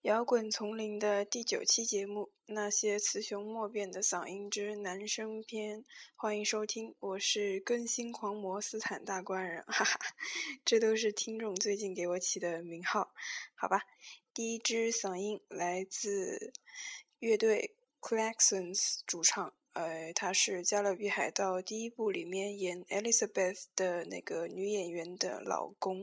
摇滚丛林的第9期节目，那些雌雄莫辨的嗓音之男生篇，欢迎收听，我是更新狂魔斯坦大官人，哈哈，这都是听众最近给我起的名号，好吧。第一支嗓音来自乐队 Klaxons 主唱，她是《加勒比海盗》第1部里面演 Elizabeth 的那个女演员的老公。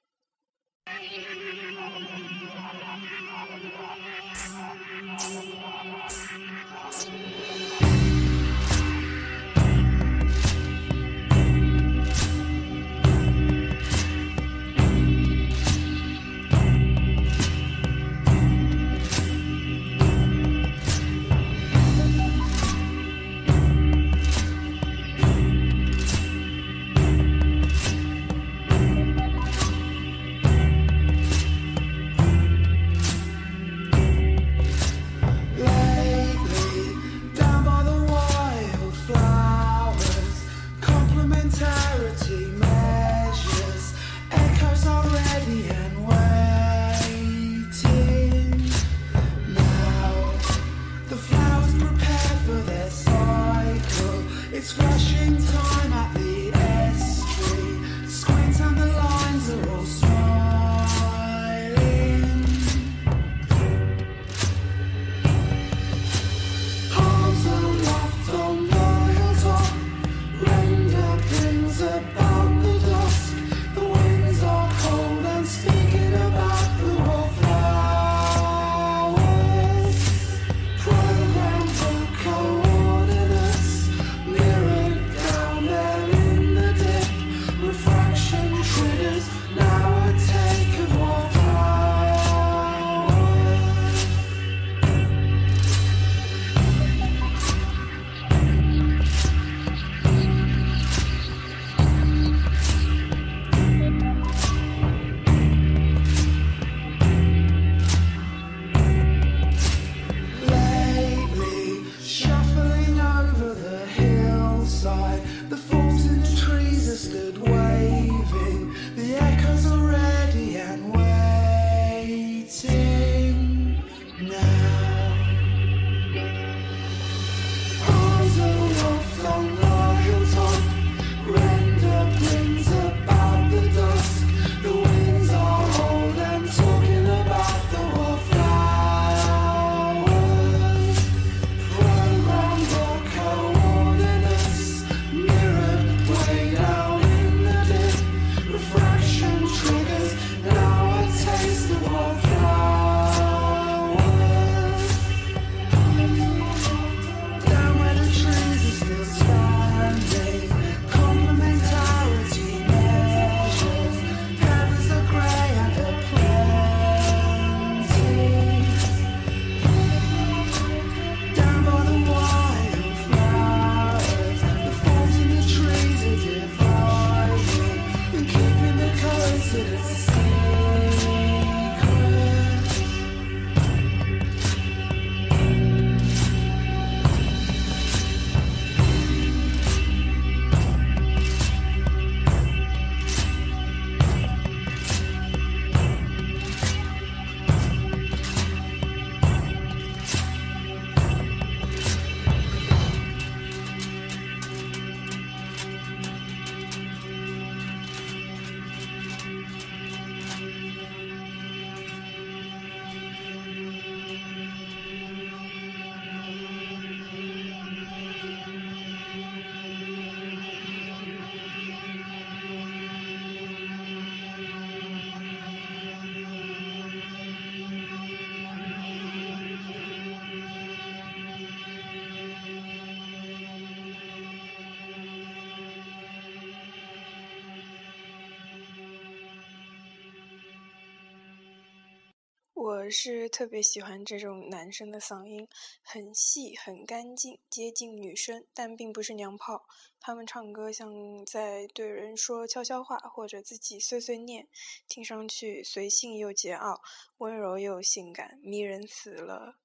我是特别喜欢这种男生的嗓音，很细很干净，接近女生，但并不是娘炮。他们唱歌像在对人说悄悄话，或者自己碎碎念，听上去随性又桀骜，温柔又性感，迷人死了。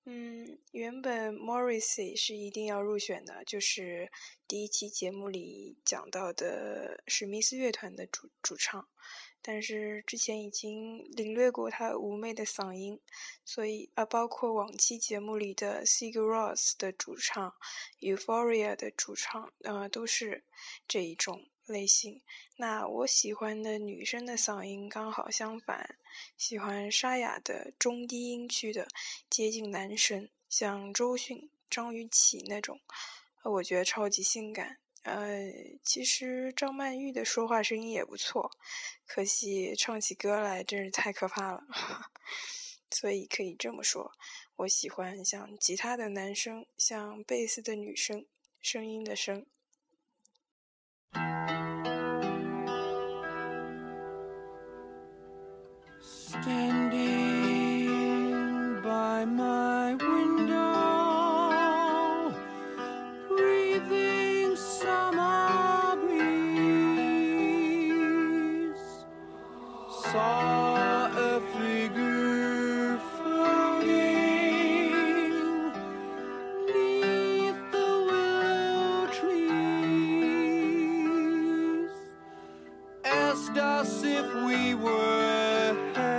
原本 Morrissey 是一定要入选的，就是第一期节目里讲到的史密斯乐团的主唱，但是之前已经领略过他妩媚的嗓音，所以包括往期节目里的 Sigur Rós 的主唱 Euphoria 的主唱都是这一种类型。那我喜欢的女生的嗓音刚好相反，喜欢沙哑的中低音区的，接近男生，像周迅、张雨绮那种，我觉得超级性感。其实张曼玉的说话声音也不错，可惜唱起歌来真是太可怕了。所以可以这么说，我喜欢像吉他的男生，像贝斯的女生，声音的声。 Standing by my window, breathing summer breeze, saw a figure floating 'neath the willow trees, asked us if we were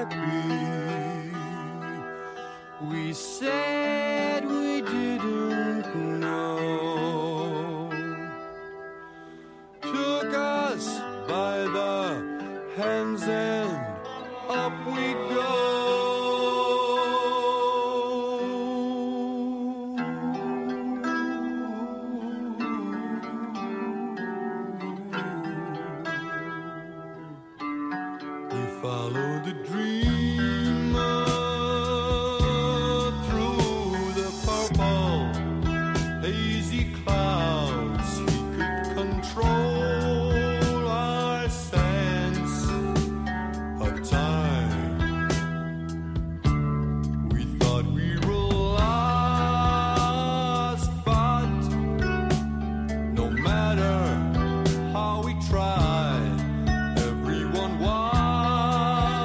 happy.We said we didn't know. Took us by the hands and up we go. We followed the dreamer.Hazy clouds, he could control our sense of time. We thought we were lost, but no matter how we tried, everyone was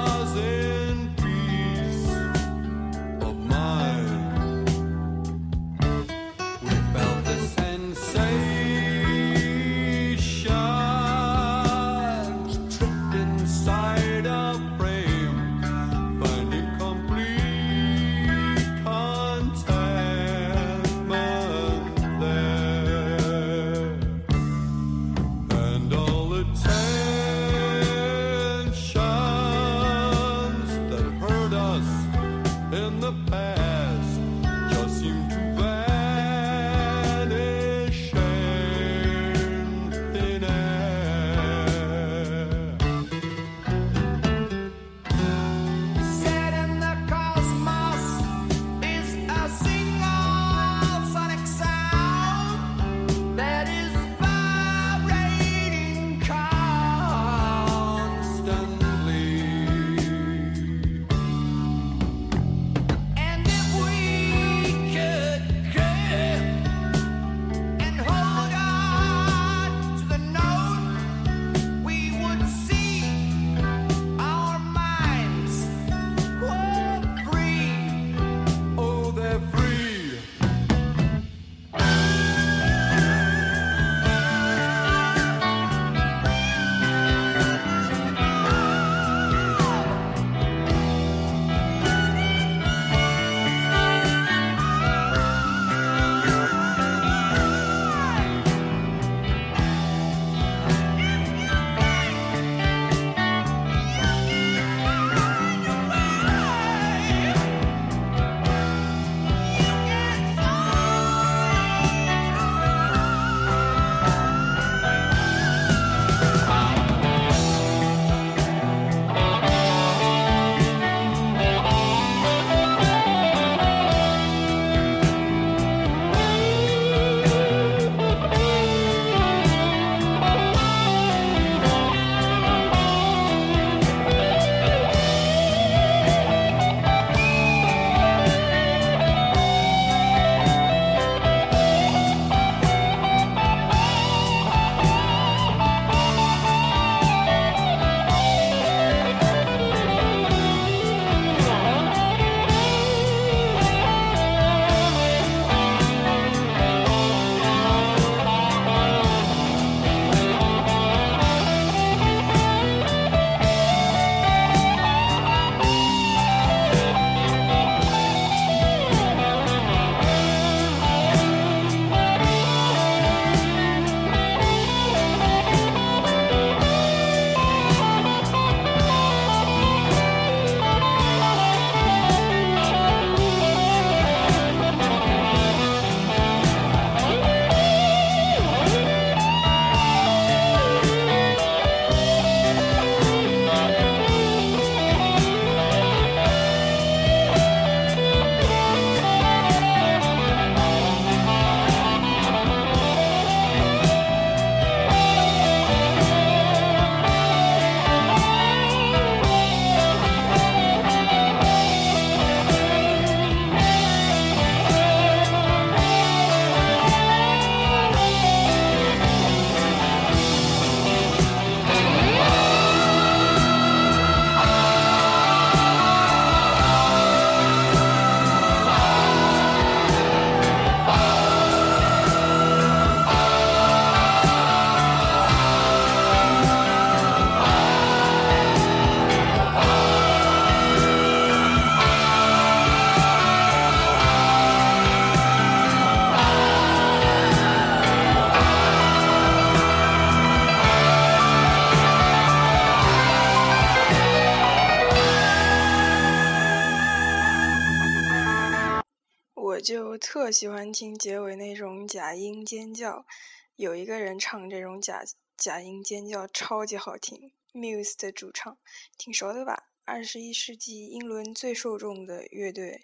就特喜欢听结尾那种假音尖叫，有一个人唱这种假音尖叫超级好听 ，Muse 的主唱，挺熟的吧？21世纪英伦最受众的乐队，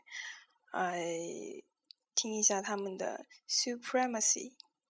听一下他们的 Supremacy。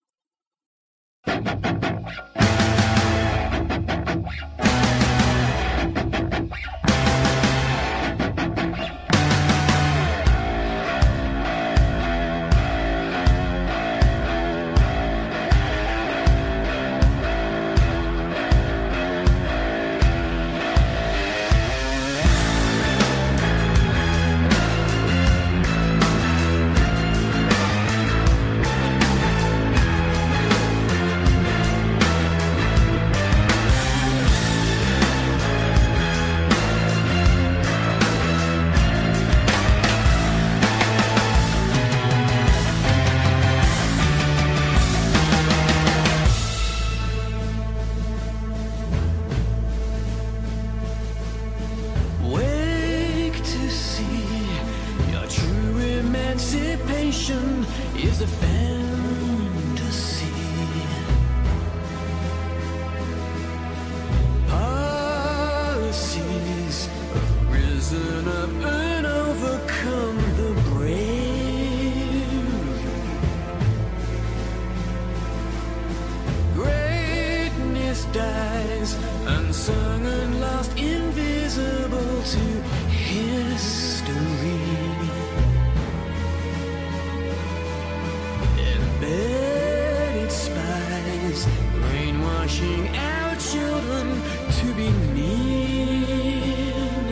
Is a fantasy. Policies have risen up and overcome the brave. Greatness dies unsung and lost, invisible to history. Embedded spies brainwashing our children to be mean.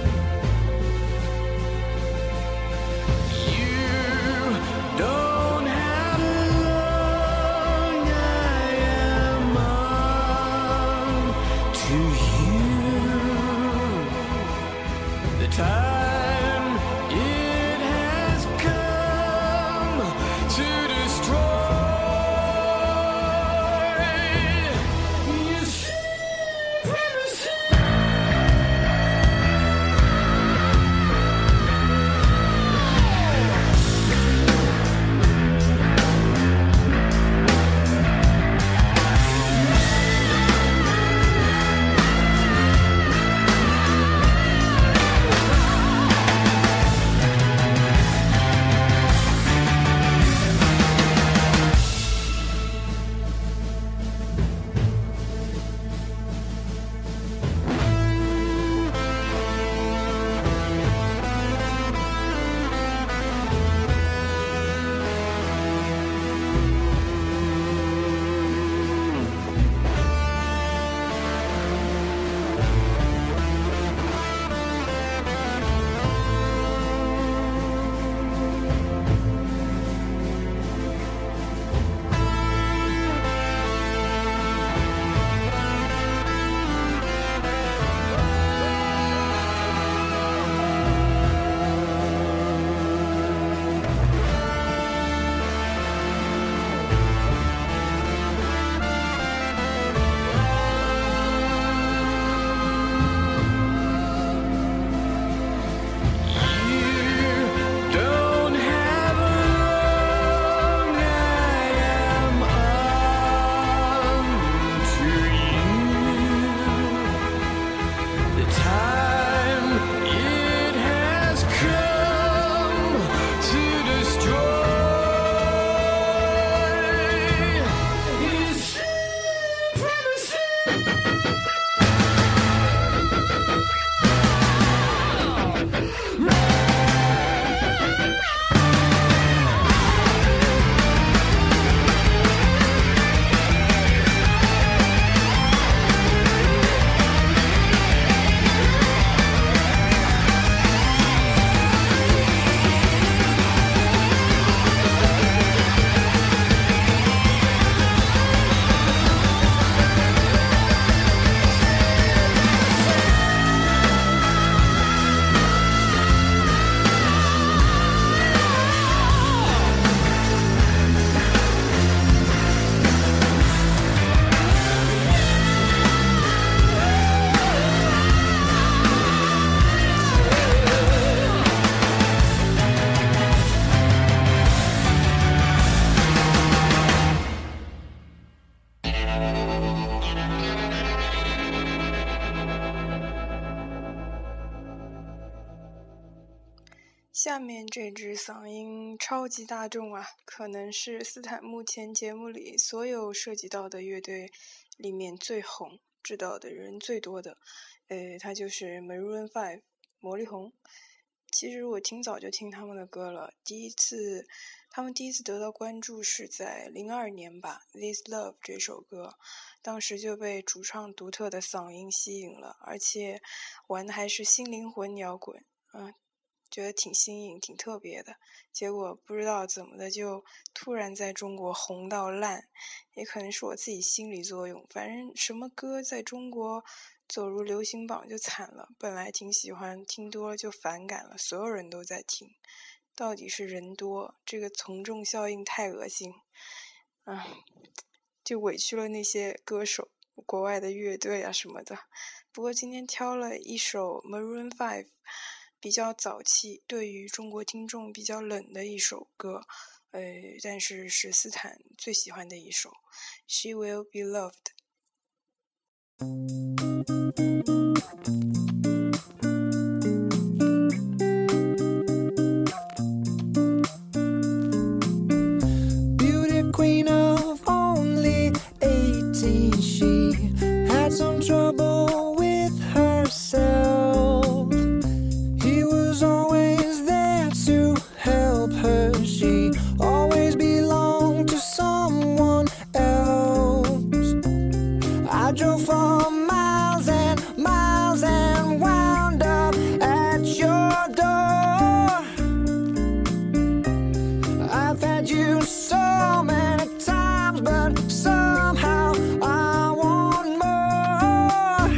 You don't have long I am on to you. The time it has come to destroy. You supremacy. 下面这支嗓音超级大众啊，可能是斯坦目前节目里所有涉及到的乐队里面最红，知道的人最多的。他就是 Maroon 5，魔力红。其实我挺早就听他们的歌了，他们第一次得到关注是在02年吧， This Love 这首歌，当时就被主唱独特的嗓音吸引了，而且玩的还是新灵魂摇滚，觉得挺新颖挺特别的，结果不知道怎么的就突然在中国红到烂，也可能是我自己心理作用，反正什么歌在中国走入流行榜就惨了，本来挺喜欢，听多了就反感了，所有人都在听，到底是人多，这个从众效应太恶心，就委屈了那些歌手，国外的乐队啊什么的。不过今天挑了一首 Maroon 5比较早期，对于中国听众比较冷的一首歌，但是是斯坦最喜欢的一首 She Will Be Loved。 Beauty queen of only 18, she had some trouble with herself. He was always there to help her. She always belonged to someone else. I drove for miles and miles and wound up at your door. I've had you so many times, but somehow I want more.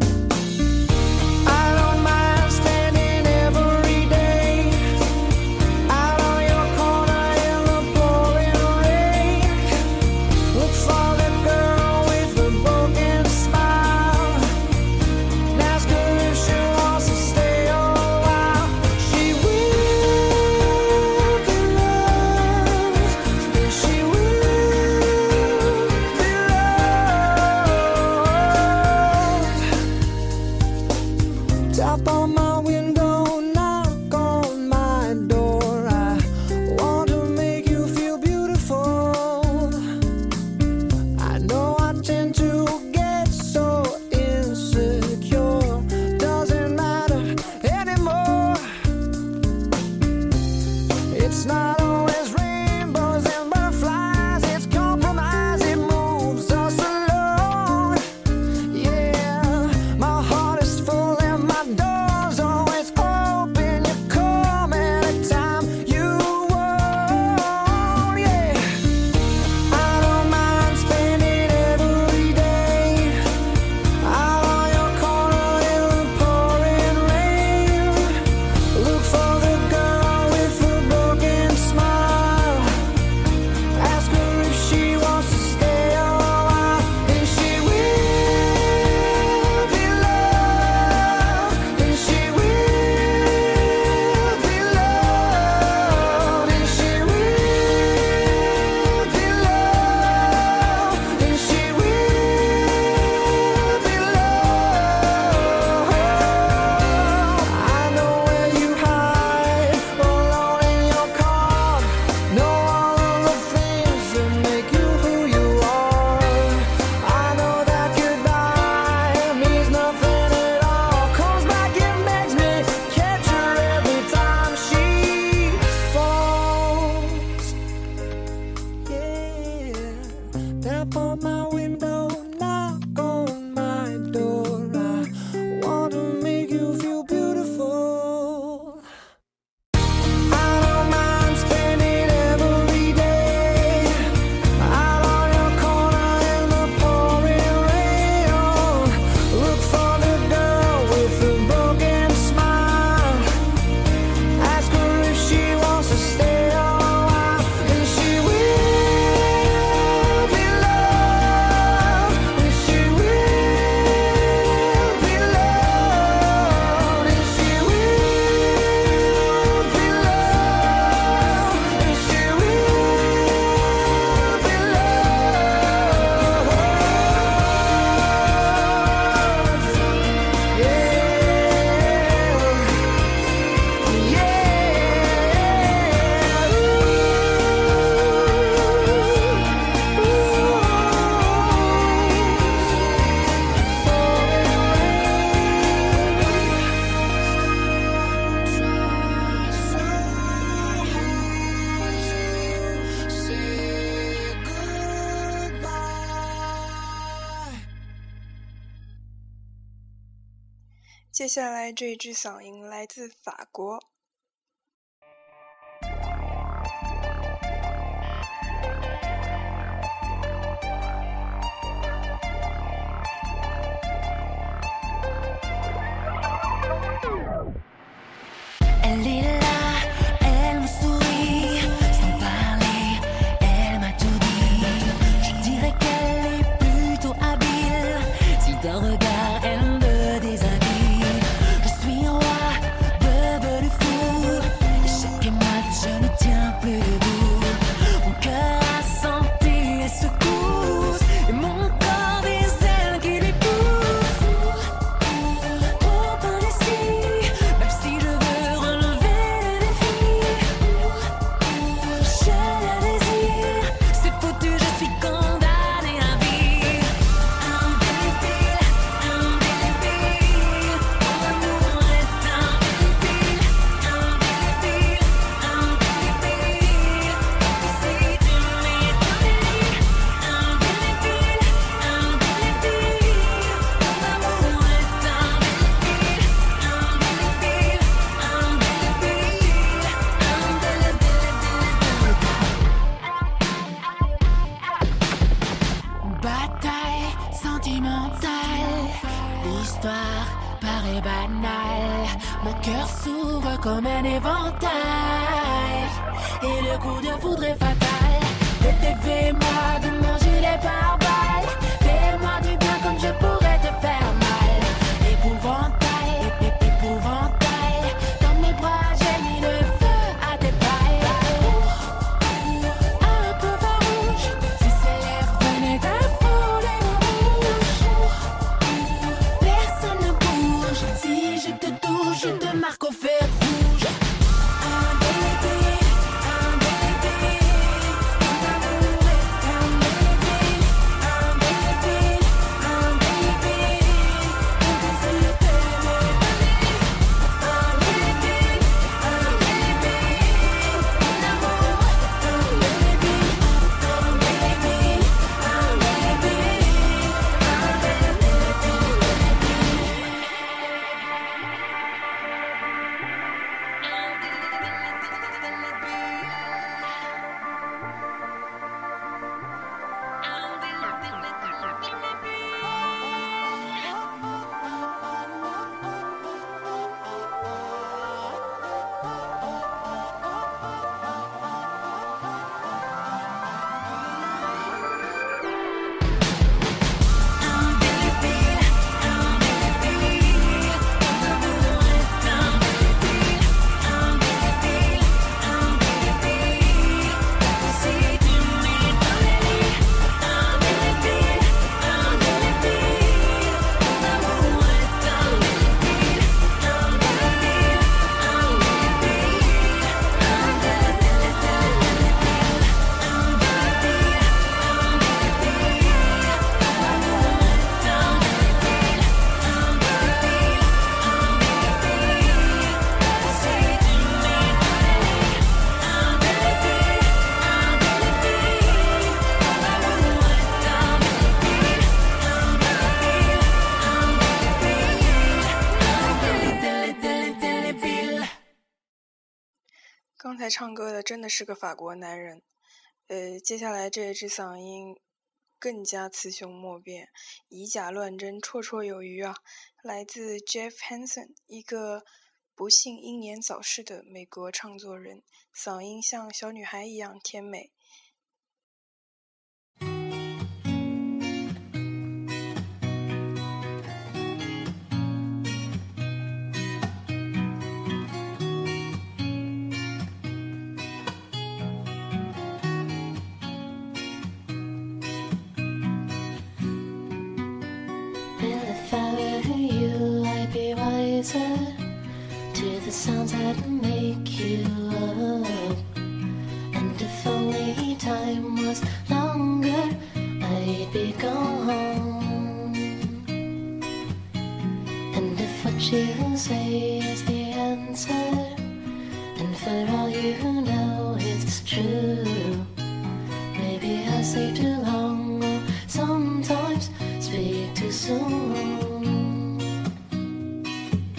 I don't mind standing every day out on your corner in the pouring rain. Look for the girl with the broken smile. 接下来这支嗓音来自法国。 Elle est là, elle me sourit, sans parler, elle m'a tout dit. Je dirais qu'elle est plutôt habile, si d'un regard elle me déshabille. Je suis un roi, devenu fou, et chaque match je ne tiens plus debout. Mon cœur a senti les secousses, et mon corps des ailes qui lui poussent. Trop indécis, même si je veux relever le défi, je la désire, c'est foutu, je suis condamnée à vie. Indélébile, indélébile, mon amour est indélébile, indélébile, indélébile. Si tu m'étonnes, indélébile, indélébile, mon amour est indélébile, indélébile, indélébile. Bataille sentimentale, l'histoire paraît banale. Mon cœur s'ouvre comme un éventail, et le coup de foudre est fatal. Fais-moi de manger les pare-balles, fais-moi du bien comme je pourrais te faire mal. Épouvantail, épouvantail, dans mes bras j'ai mis le feu à tes pailles. Un peu farouche, si ses lèvres venaient à frôler ma bouche. Personne ne bouge, si je te touche, je te marque au fer rouge. Indélébile, indélébile, mon amour est indélébile, indélébile, indélébile. Mon désir t'aimer, indélébile, indélébile, mon amour est indélébile, indélébile, 刚才唱歌的真的是个法国男人。接下来这一支嗓音更加雌雄莫辨，以假乱真，绰绰有余啊！来自 Jeff Hansen， 一个不幸英年早逝的美国唱作人，嗓音像小女孩一样甜美。 To the sounds that make you up, and if only time was longer, I'd be gone. And if what you say is the answer, and for all you know it's true, maybe I say too long, or sometimes speak too soon.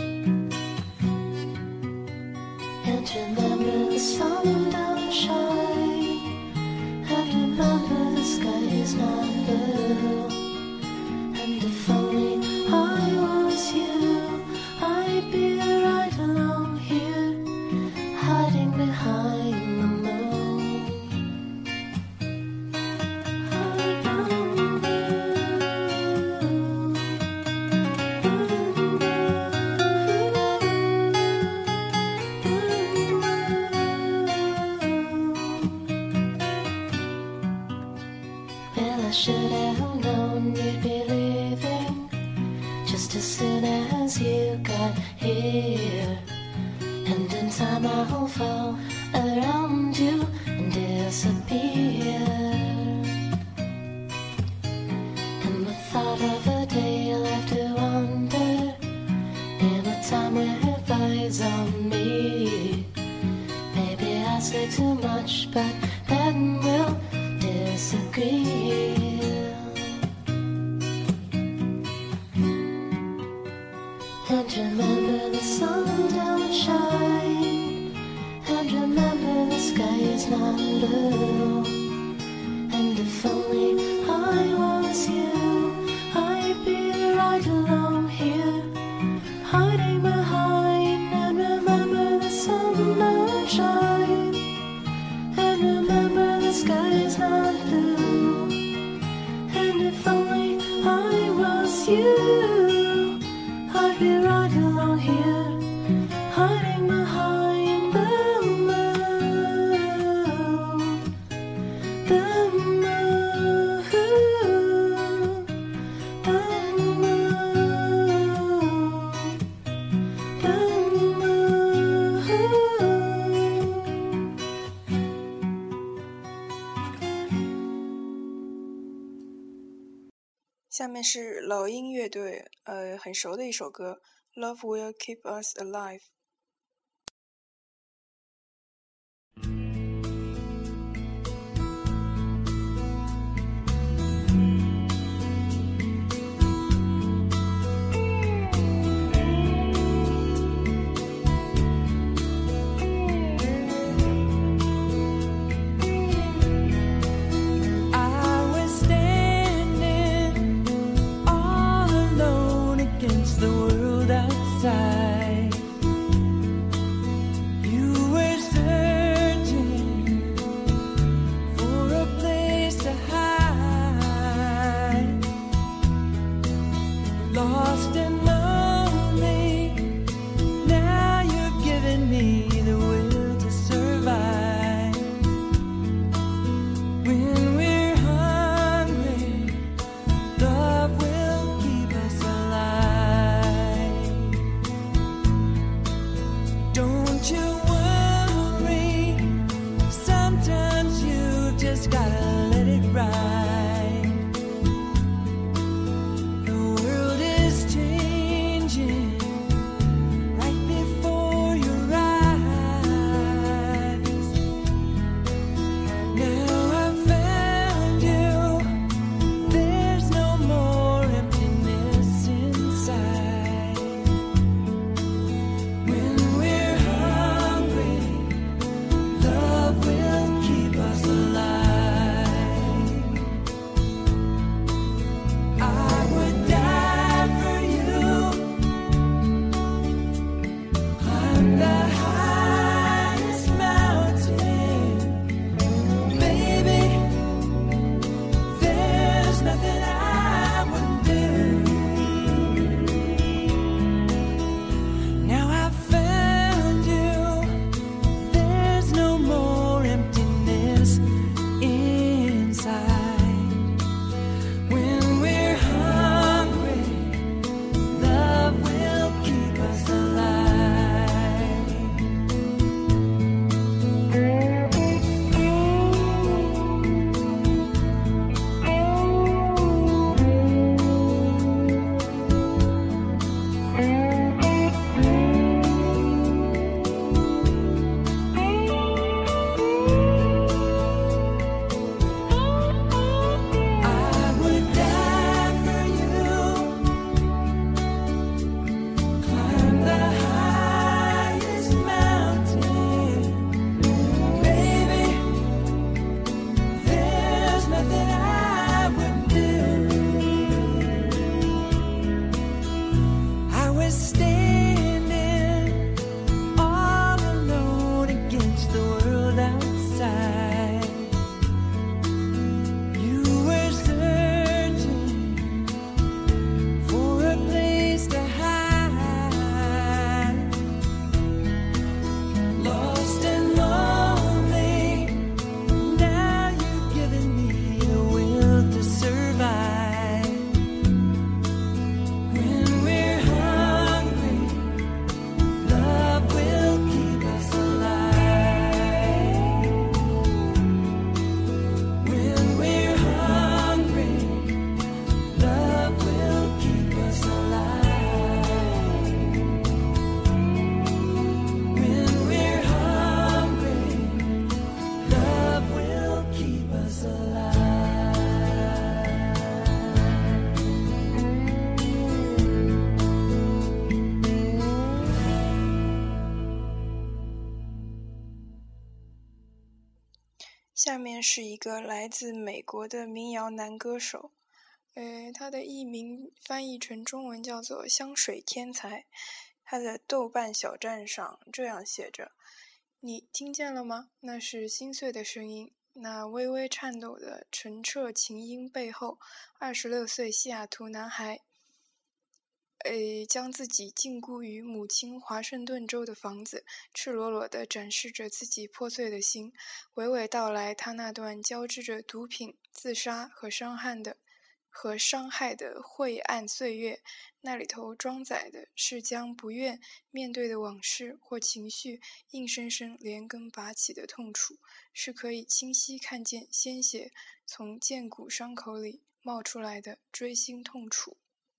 just as soon as you got here. And in time I'll fall around you and disappear. And the thought of a day left to wander in a time with eyes on me. Maybe I say too much, but then we'll disagree. And remember the sun don't shine. And remember the sky is not blue. And if only I was you, I'd be right along here, hiding behind. And remember the sun don't shine. And remember the sky is not blue. And if only I was you, I'd be right along here, hiding behind the moon. The moon, the moon, the moon. 下面是老鹰乐队很熟的一首歌，Love Will Keep Us Alive。 The world outside, you were searching for a place to hide, lost and lonely. Now you've given me the will to survive. When we're hungry, love will keep us alive. Don't you worry, sometimes you just gotta let it ride. The world is changing right before your eyes. Now I've found you, there's no more emptiness inside. When we're hungry, love will keep us alive. I would die for you, climb the highest mountain. Baby, there's nothing I wouldn't do. Now I've found you, there's no more emptiness inside. When we're hungry, love will keep us alive. I would die for you, climb the highest mountain. Baby, there's nothing I wouldn't do. I was standing all alone against the world outside. You were searching for a place to hide, lost and lonely. Now you've given me the will to survive. When we're 下面是一个来自美国的民谣男歌手，他的艺名翻译成中文叫做香水天才。他的豆瓣小站上这样写着：你听见了吗？那是心碎的声音，那微微颤抖的澄澈琴音背后，26岁西雅图男孩将自己禁锢于母亲华盛顿州的房子，赤裸裸地展示着自己破碎的心，娓娓道来他那段交织着毒品、自杀和伤害的晦暗岁月。那里头装载的是将不愿面对的往事或情绪硬生生连根拔起的痛楚，是可以清晰看见鲜血从剑骨伤口里冒出来的锥心痛楚。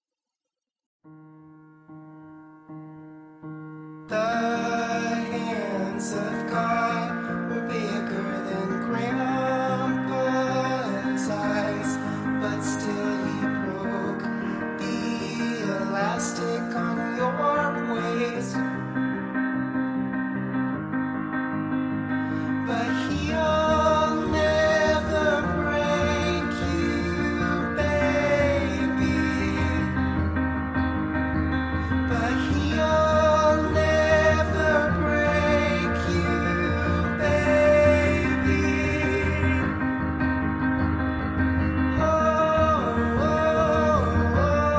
The hands of God were bigger than Grandpa's eyes, but still he broke the elastic on your waist. But he'll never break you, baby. But he'll never break you, baby. Oh, oh, oh,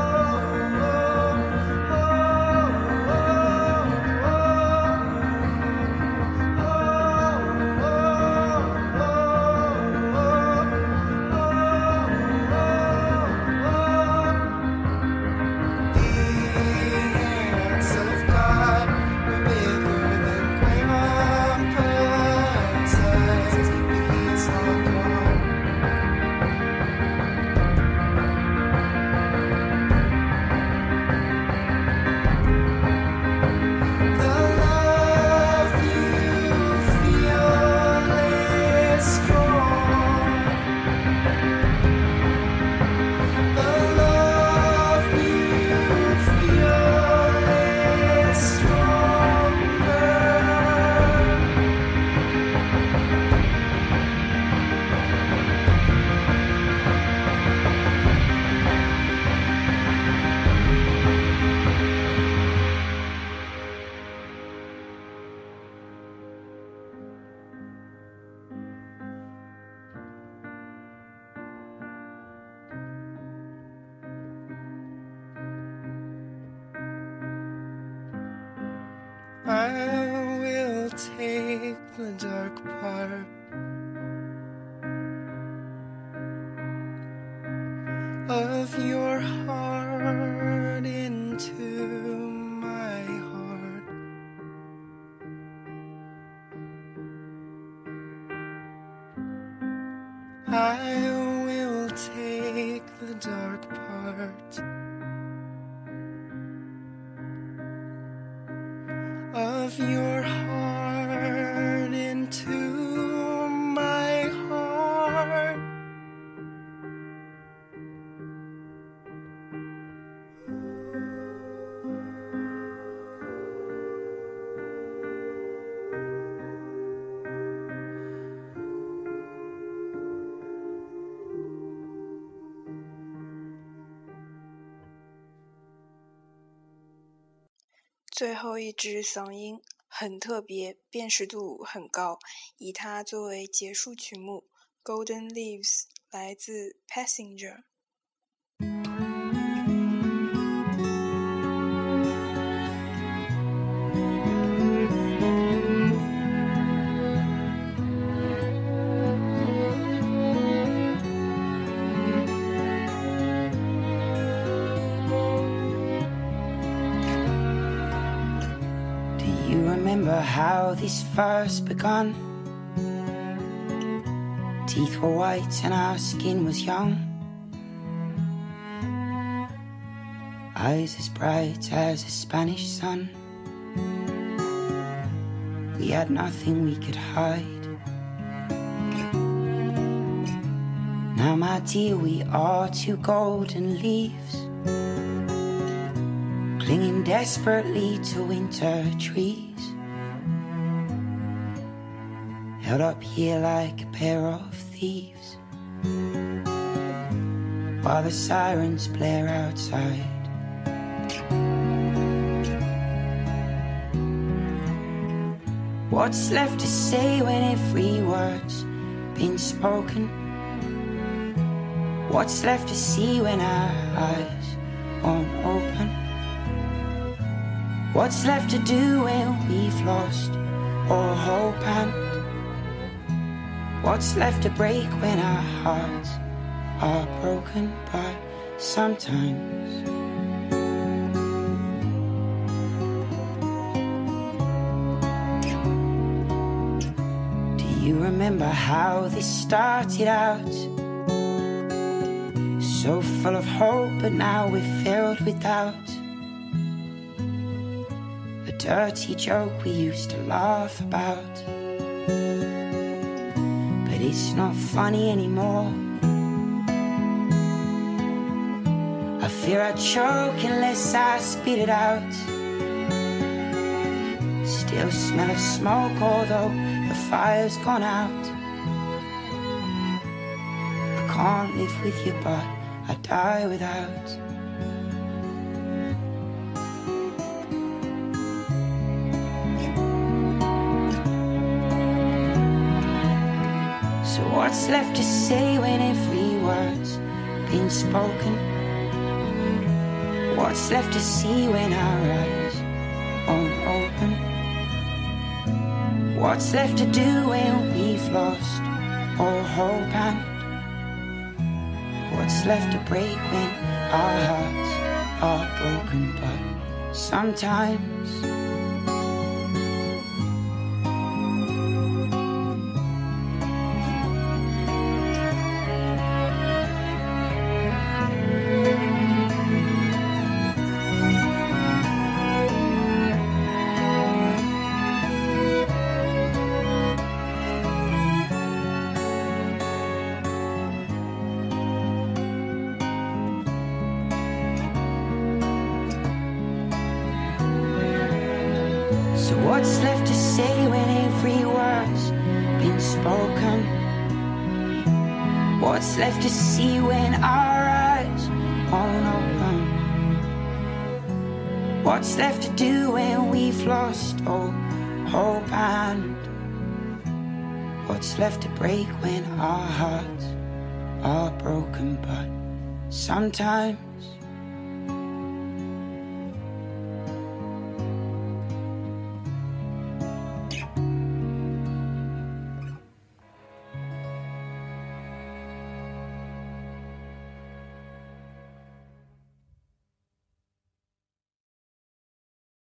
I will take the dark part of your heart into my heart. I will take the dark part of your heart into my heart. 最后一支嗓音很特别，辨识度很高，以它作为结束曲目。Golden Leaves 来自 Passenger。 Remember how this first begun? Teeth were white and our skin was young. Eyes as bright as a Spanish sun. We had nothing we could hide. Now my dear, we are two golden leaves, clinging desperately to winter trees. held up here like a pair of thieves, while the sirens blare outside. What's left to say when every word's been spoken? What's left to see when our eyes won't open? What's left to do when we've lost all hope? And what's left to break when our hearts are broken? But sometimes you remember how this started out? So full of hope, but now we're filled with doubt. A dirty joke we used to laugh about, but it's not funny anymore. I fear I choke unless I spit it out. Still smell of smoke, although the fire's gone out. I can't live with you, but I die without. So what's left to say when every word's been spoken? What's left to see when our eyes won't open? What's left to do when we've lost all hope? And what's left to break when our hearts are broken? But sometimes so what's left to say when every word's been spoken? What's left to see when our eyes won't open? What's left to do when we've lost all hope? And what's left to break when our hearts are broken? But sometimes